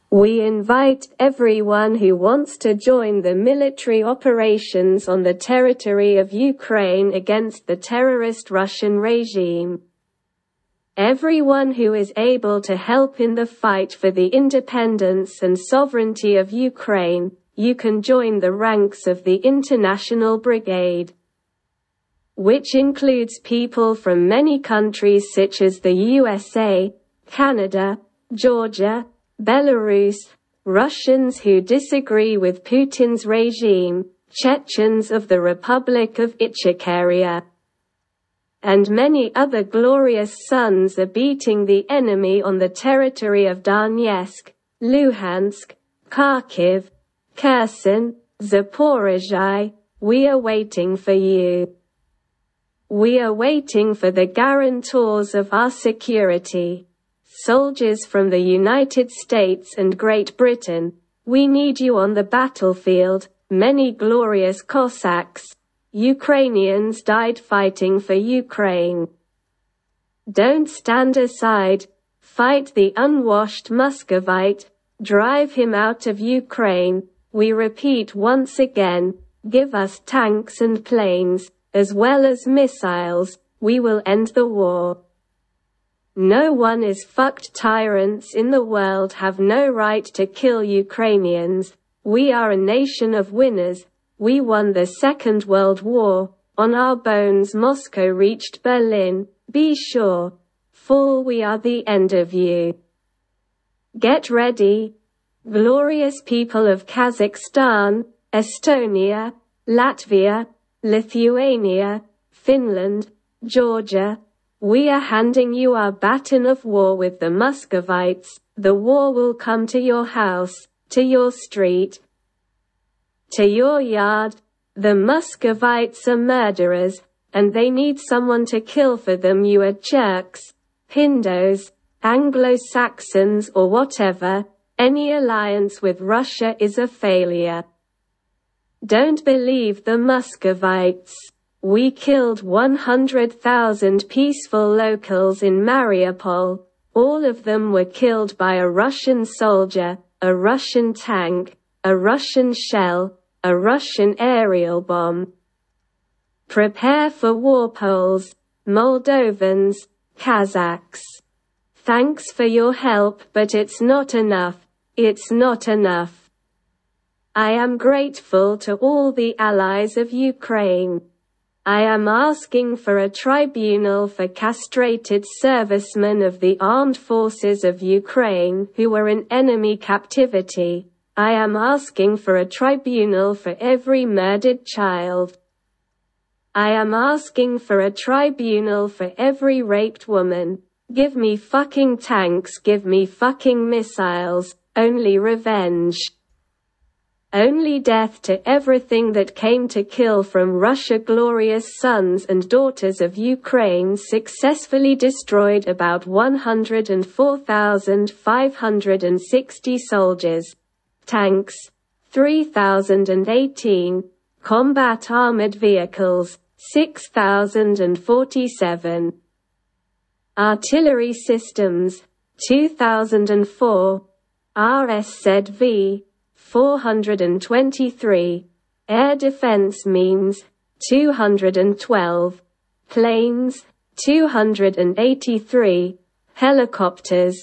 We invite everyone who wants to join the military operations on the territory of Ukraine against the terrorist Russian regime. Everyone who is able to help in the fight for the independence and sovereignty of Ukraine, you can join the ranks of the International Brigade, which includes people from many countries such as the USA, Canada, Georgia, Belarus, Russians who disagree with Putin's regime, Chechens of the Republic of Ichkeria, and many other glorious sons are beating the enemy on the territory of Donetsk, Luhansk, Kharkiv, Kherson, Zaporizhzhia. We are waiting for you. We are waiting for the guarantors of our security. Soldiers from the United States and Great Britain, we need you on the battlefield. Many glorious Cossacks, Ukrainians died fighting for Ukraine. Don't stand aside. Fight the unwashed Muscovite. Drive him out of Ukraine. We repeat once again, give us tanks and planes, as well as missiles. We will end the war. No one is fucked. Tyrants in the world have no right to kill Ukrainians. We are a nation of winners. We won the Second World War. On our bones Moscow reached Berlin. Be sure. Fall, we are the end of you. Get ready. Glorious people of Kazakhstan, Estonia, Latvia, Lithuania, Finland, Georgia, we are handing you our baton of war with the Muscovites. The war will come to your house, to your street, to your yard. The Muscovites are murderers, and they need someone to kill for them. You are Turks, Pindos, Anglo-Saxons or whatever. Any alliance with Russia is a failure. Don't believe the Muscovites. We killed 100,000 peaceful locals in Mariupol. All of them were killed by a Russian soldier, a Russian tank, a Russian shell, a Russian aerial bomb. Prepare for war, Poles, Moldovans, Kazakhs. Thanks for your help, but it's not enough. It's not enough. I am grateful to all the allies of Ukraine. I am asking for a tribunal for castrated servicemen of the armed forces of Ukraine who were in enemy captivity. I am asking for a tribunal for every murdered child. I am asking for a tribunal for every raped woman. Give me fucking tanks, give me fucking missiles, only revenge. Only death to everything that came to kill from Russia. Glorious sons and daughters of Ukraine successfully destroyed about 104,560 soldiers, tanks, 3,018, combat armored vehicles, 6,047, artillery systems, 2,004, RSZV, 423, air defense means, 212, planes, 283, helicopters,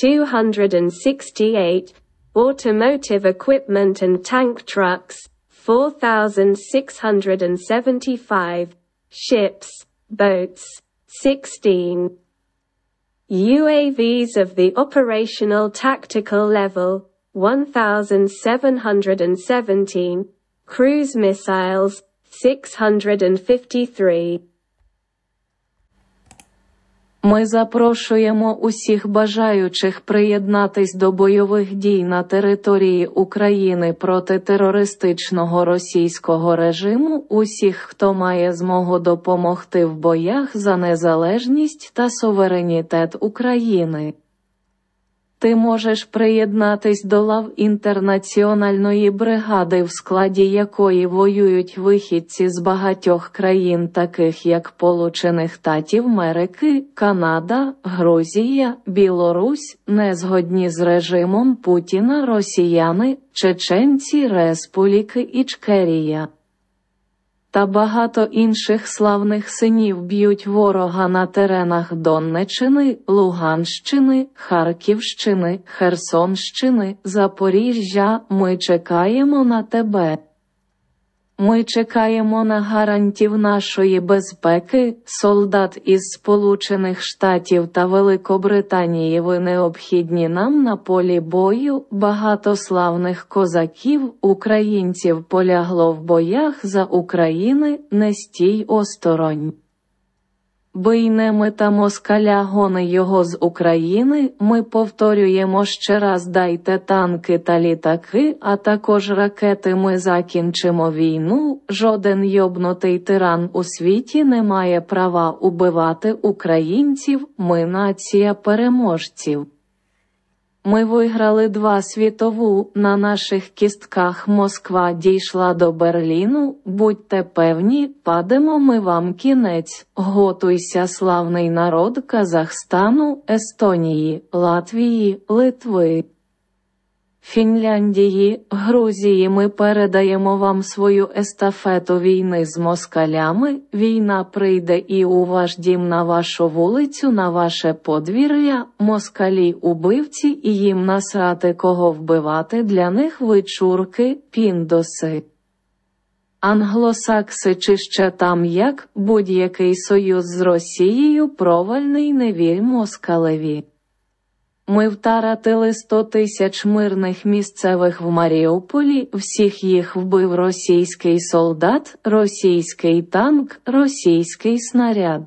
268, automotive equipment and tank trucks, 4,675, ships, boats, 16, UAVs of the operational tactical level, 1,717, cruise missiles, 653. Ми запрошуємо усіх бажаючих приєднатись до бойових дій на території України проти терористичного російського режиму, усіх, хто має змогу допомогти в боях за незалежність та суверенітет України. Ти можеш приєднатись до лав інтернаціональної бригади, в складі якої воюють вихідці з багатьох країн, таких як Сполучених Штатів Америки, Канада, Грузія, Білорусь, незгодні з режимом Путіна росіяни, чеченці, Республіки Ічкерія та багато інших славних синів б'ють ворога на теренах Донеччини, Луганщини, Харківщини, Херсонщини, Запоріжжя. Ми чекаємо на тебе. Ми чекаємо на гарантів нашої безпеки, солдат із Сполучених Штатів та Великобританії. Ви необхідні нам на полі бою. Багато славних козаків, українців полягло в боях за України, не стій осторонь. Бий немета москаля, гони його з України. Ми повторюємо ще раз: дайте танки та літаки, а також ракети. Ми закінчимо війну. Жоден йобнутий тиран у світі не має права убивати українців. Ми нація переможців. Ми виграли 2 світову, на наших кістках Москва дійшла до Берліну, будьте певні, падемо ми вам кінець. Готуйся, славний народ Казахстану, Естонії, Латвії, Литви, Фінляндії, Грузії. Ми передаємо вам свою естафету війни з москалями. Війна прийде і у ваш дім, на вашу вулицю, на ваше подвір'я. Москалі убивці, і їм насрати, кого вбивати. Для них ви чурки, піндоси, англосакси чи ще там як. Будь-який союз з Росією провальний, не вір москалеві. Ми втратили 100 тисяч мирних місцевих в Маріуполі, всіх їх вбив російський солдат, російський танк, російський снаряд,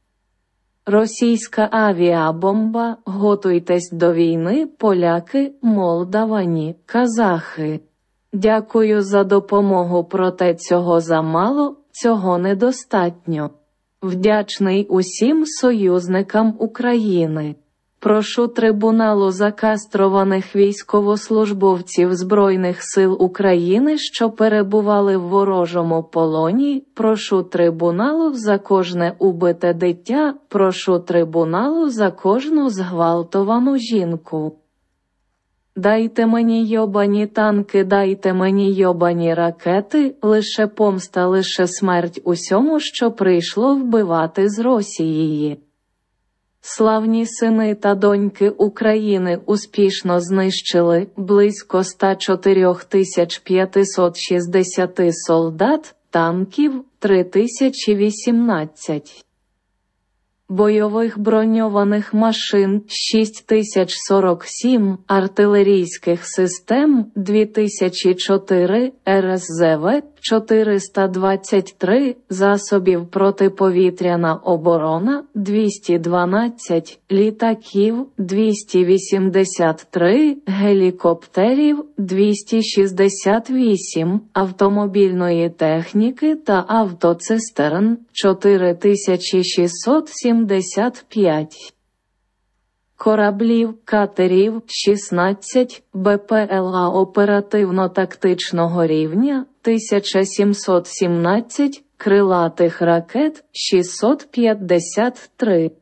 російська авіабомба. Готуйтесь до війни, поляки, молдавані, казахи. Дякую за допомогу, проте цього замало, цього недостатньо. Вдячний усім союзникам України. Прошу трибуналу закастрованих військовослужбовців Збройних сил України, що перебували в ворожому полоні. Прошу трибуналу за кожне убите дитя. Прошу трибуналу за кожну зґвалтовану жінку. Дайте мені йобані танки, дайте мені йобані ракети, лише помста, лише смерть усьому, що прийшло вбивати з Росієї. Славні сини та доньки України успішно знищили близько 104 560 солдат, танків 3018. Бойових броньованих машин 6047, артилерійських систем 2004, РСЗВ 423, засобів протиповітряна оборона 212, літаків 283, гелікоптерів 268, автомобільної техніки та автоцистерн 4675. Кораблів, катерів 16, БПЛА оперативно-тактичного рівня 1717, крилатих ракет 653.